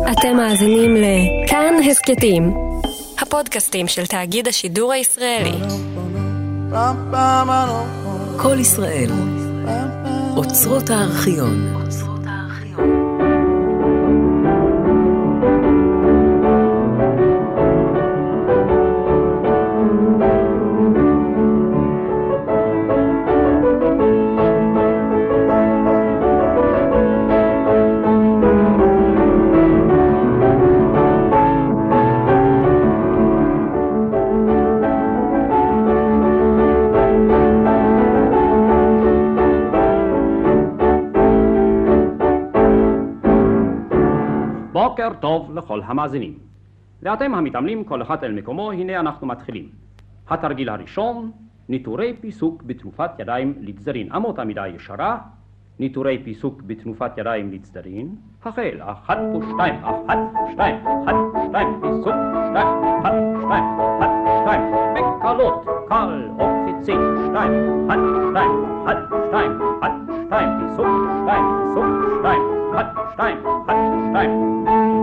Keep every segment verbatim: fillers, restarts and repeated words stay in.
אתם מאזינים לכאן הסקטים, הפודקאסטים של תאגיד השידור הישראלי. כל ישראל, אוצרות הארכיון. בוקר טוב לכל המאזינים. ואתם המתאמנים כל אחד אל מקומו, הנה אנחנו מתחילים. התרגיל הראשון, ניטורי פיסוק בתנופת ידיים לצדדים. אמות המידה ישרה, ניטורי פיסוק בתנופת ידיים לצדדים. החל, אחת ושתיים, אחת, שתיים, אחת, שתיים, פיסוק, שתיים, אחת, שתיים, אחת, שתיים, בקלות, קל או קפיצי, שתיים, אחת, שתיים, אחת, שתיים, אחת, שתיים, פיסוק, שתיים, פיסוק, שתיים, אחת, שתיים, אחת, שתיים.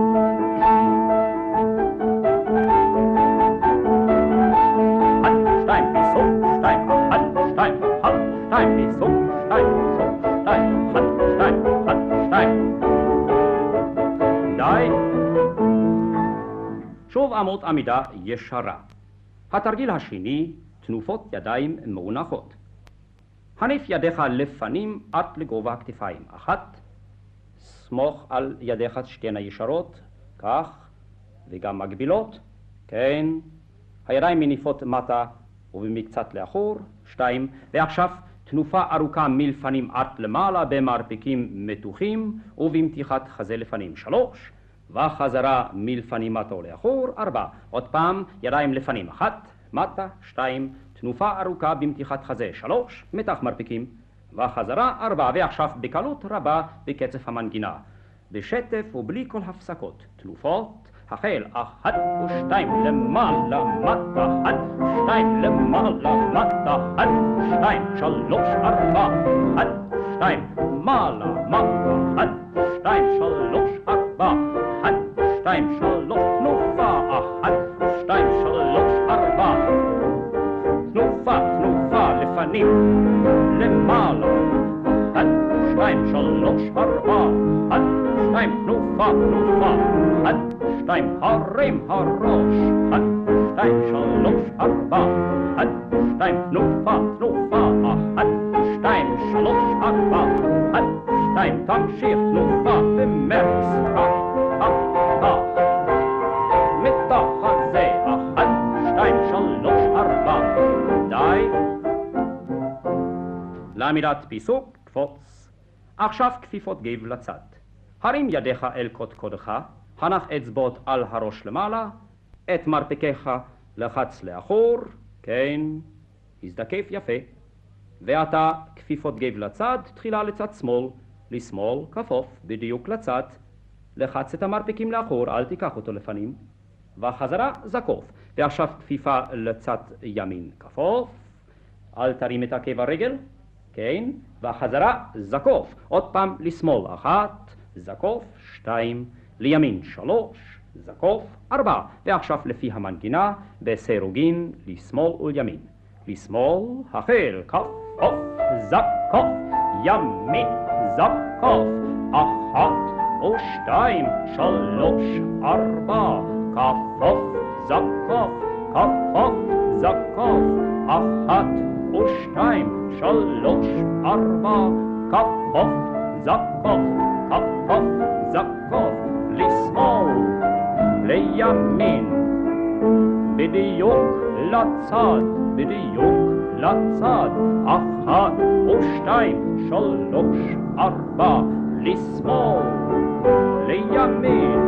שוב אמות עמידה ישרה. התרגיל השני, תנופות ידיים מאונחות. הניף ידיך לפנים עד לגובה הכתפיים. אחת, סמוך על ידיך שתיהן ישרות, כך, וגם מגבילות, כן. הידיים מניפות מטה ובמקצת לאחור. שתיים, ועכשיו תנופה ארוכה מלפנים עד למעלה במרפקים מתוחים ובמתיחת חזה לפנים. שלוש, וחזרה מלפנים מטה ולאחור. ארבע, עוד פעם ידיים לפנים. אחת, מטה. שתיים, תנופה ארוכה במתיחת חזה. שלוש, מתח מרפקים וחזרה. ארבע, ועכשיו בקלות רבה בקצב המנגינה, בשטף ובלי כל הפסקות. תנופות, החל, אחת ושתיים למעלה מטה, אחת, שתיים למעלה מטה, אחת, שתיים, שלוש, ארבע, אחת, שתיים, מעלה מטה, אחת, שתיים, שלוש, ארבע, אחת, שתיים, שלוש, תנופה, אחת, שתיים, שלוש, ארבע, תנופה, תנופה, לפנים, למעלה, אחת, שתיים, שלוש, ארבע, אחת, שתיים, תנופה, תנופה, אחת, שתיים, הרים הראש, אחת, שתיים, שלוש, ארבע, אחת, שתיים, תנופה, תנופה, אחת, שתיים, שלוש, ארבע, אחת, שתיים, תמשיך, תנופה, במרץ, כך, כך, כך, מתח הזה, אחת, שתיים, שלוש, ארבע, די. לעמידת פיסוק, קפוץ. עכשיו כפיפות גב לצד. הרים ידיך אל קודקודך, הנח אצבעות על הראש למעלה, את מרפקיך לחץ לאחור, כן, הזדקף יפה. ועתה כפיפות גב לצד, תחילה לצד שמאל, לשמאל, כפוף, בדיוק לצד, לחץ את המרפקים לאחור, אל תיקח אותו לפנים, וחזרה זקוף. ועכשיו כפיפה לצד ימין, כפוף, אל תרים את עקב הרגל, כן, וחזרה זקוף. עוד פעם לשמאל, אחת, זקוף, שתיים, לימין, שלוש, זקוף, ארבע. ועכשיו לפי המנגינה, בסירוגין, לשמאל ולימין. לשמאל, החל, כפוף, זקוף, ימין, זקוף, אחת ושתיים, שלוש, ארבע, כפוף, זקוף, כפוף, זקוף, אחת ושתיים, שלוש, ארבע, כפוף, זקוף, כפוף, זקוף, לשמאל, לימין, בדיוק לצד, בדיוק לצד, אחת ושתיים, שלוש, ארבע, לשמאל, לימין,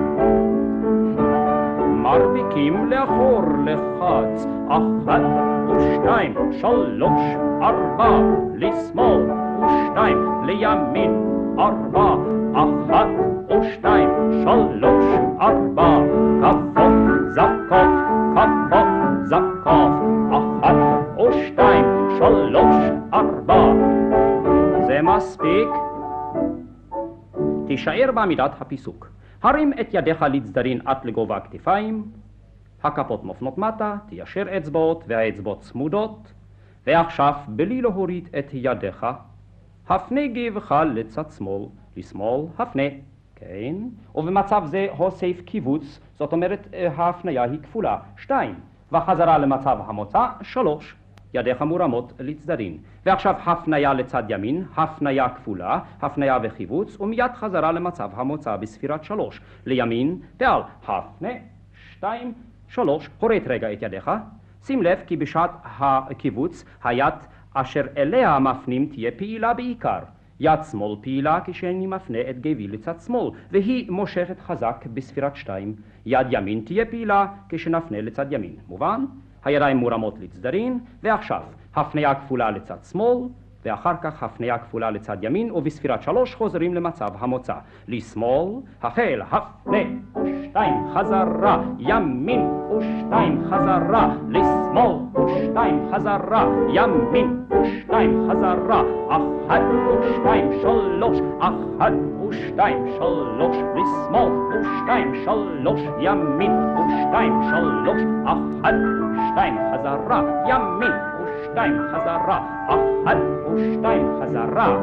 מרפקים לאחור לחץ, אחת ושתיים, שלוש, ארבע, לשמאל, ושתיים, לימין, ארבע, אחת ושתיים, שלוש, ארבע, כפוף, זקוף, כפוף, זקוף, אחת ושתיים, שלוש, ארבע. זה מספיק. תישאר בעמידת הפיסוק. הרים את ידיך לצדדים עד לגובה הכתפיים, הכפות מופנות מטה, תיישר אצבעות והאצבעות צמודות, ועכשיו בלי להוריד את ידיך, הפנה גבך לצד שמאל, לשמאל, הפנה, כן, ובמצב זה הוסיף קיבוץ, זאת אומרת ההפניה היא כפולה, שתיים, וחזרה למצב המוצא, שלוש, ידיך מורמות לצדדים, ועכשיו הפניה לצד ימין, הפניה כפולה, הפניה וחיבוץ, ומיד חזרה למצב המוצא בספירת שלוש, לימין, ועל הפנה, שתיים, שלוש, הוריד רגע את ידיך, שים לב כי בשעת הקיבוץ היד אשר אליה מפנים תהיה פעילה בעיקר. יד שמאל פעילה כשאני מפנה את גבי לצד שמאל, והיא מושכת חזק בספירת שתיים. יד ימין תהיה פעילה כשנפנה לצד ימין. מובן? הידיים מורמות לצדדים, ועכשיו הפניה כפולה לצד שמאל, ואחר כך הפניה כפולה לצד ימין, ובספירת שלוש חוזרים למצב המוצא. לשמאל, החל, הפנה, ושתיים חזרה, ימין, ושתיים חזרה, לשמאל, ושתיים חזרה, ימין, ושתיים חזרה, אחת ושתיים שלוש, אחת ושתיים שלוש, לשמאל, ושתיים שלוש, ימין, ושתיים שלוש, אחת ושתיים חזרה, ימין, ושתיים חזרה, אחת ושתיים חזרה.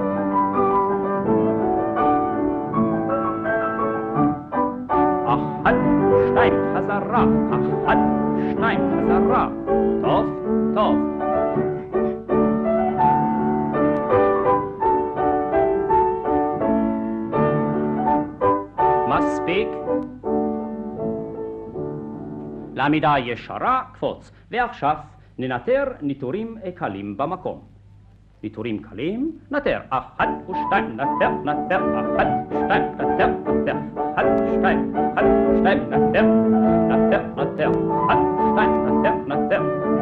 אחת ושתיים חזרה, אחת ושתיים חזרה. טוב, טוב. מספיק. לעמידה ישרה, קפוץ. ועכשיו ננטר ניטורים קלים במקום. ניטורים קלים, נטר. אחת ושתיים, נטר, נטר, אחת ושתיים, נטר, נטר, אחת ושתיים, אחת ושתיים, נטר, נטר, נטר, אחת ושתיים, נטר, נטר.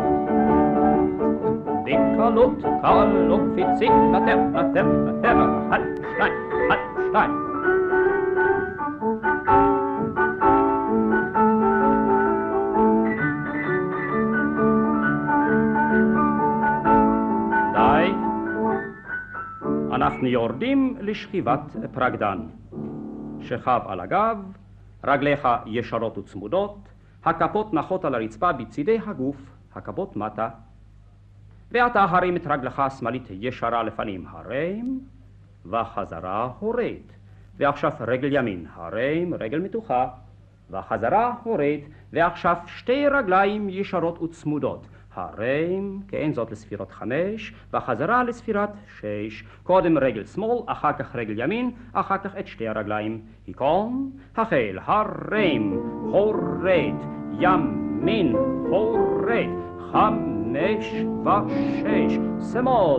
בקלות, קל וקפיצי, נטר, נטר, נטר, אחת ושתיים, אחת ושתיים. אנחנו יורדים לשכיבת פרקדן. שכב על הגב, רגליך ישרות וצמודות, הכפות נחות על הרצפה בצידי הגוף, הכפות מטה, ואתה הרים את רגלך השמאלית ישרה לפנים, הרים, וחזרה הורד. ועכשיו רגל ימין, הרים, רגל מתוחה, וחזרה הורד, ועכשיו שתי רגליים ישרות וצמודות. הרים, כן, זאת לספירות חמש, וחזרה לספירת שש. קודם רגל שמאל, אחר כך רגל ימין, אחר כך את שתי הרגליים. היכון, החל, הרים, הורד, ימין, הורד, חמש ושש, שמאל,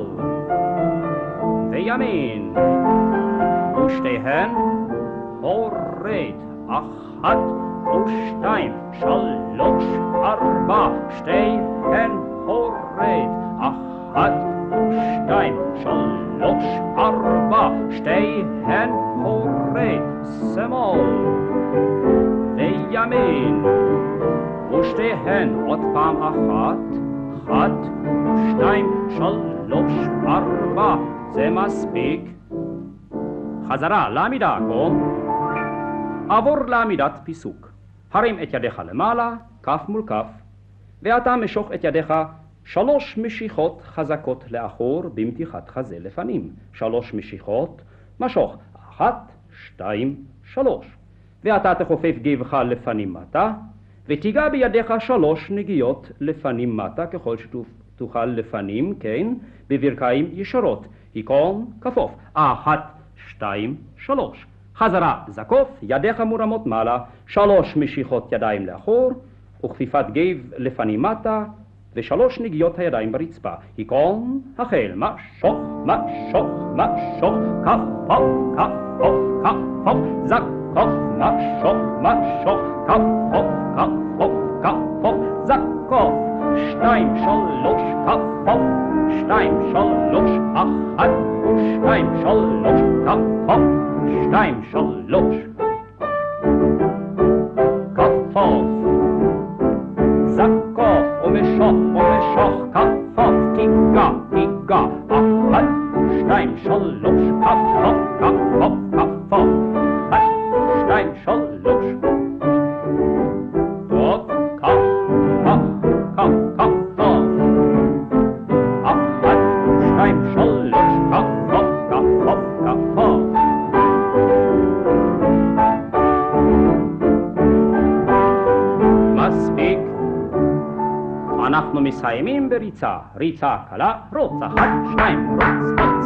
וימין, ושתיהן, הורד, אחת, ושתיים, שלוש, ארבע, שתיהן הורד, אחת, ושתיים, שלוש, ארבע, שתיהן הורד, שמאל, וימין, ושתיהן עוד פעם אחת, אחת, שתיים, שלוש, ארבע, זה מספיק. חזרה לעמידה, קום. עבור לעמידת פיסוק. הרים את ידיך למעלה, כף מול כף, ואתה משוך את ידיך שלוש משיכות חזקות לאחור במתיחת חזה לפנים. שלוש משיכות, משוך, אחת, שתיים, שלוש. ואתה תכופף גבך לפנים מטה, ותיגע בידיך שלוש נגיעות לפנים מטה, ככל שתוכל לפנים, כן, בברכיים ישרות. היכון, כפוף, אחת, שתיים, שלוש. חזרה, זקוף, ידיך מורמות מעלה, שלוש משיכות ידיים לאחור, וכפיפת גב לפנים מטה, ושלוש נגיעות הידיים ברצפה. היכון, החל, משוך, משוך, משוך, כפוף, כפוף, כפוף, זקוף, משוך, משוך, כפוף, כפוף, כפוף, זקוף, שתיים, שלוש, כפוף, שתיים, שלוש, אחת, ושתיים, שלוש, כפוף, שתיים, שלוש, כפוף, זקוף, ומשוך, ומשוך, כפוף, תיגע, תיגע, אחת, שתיים, שלוש, כפוף, כפוף, כפוף, אחת, שתיים, שלוש, אנחנו מסיימים בריצה, ריצה קלה, רוץ אחת, שניים, רוץ,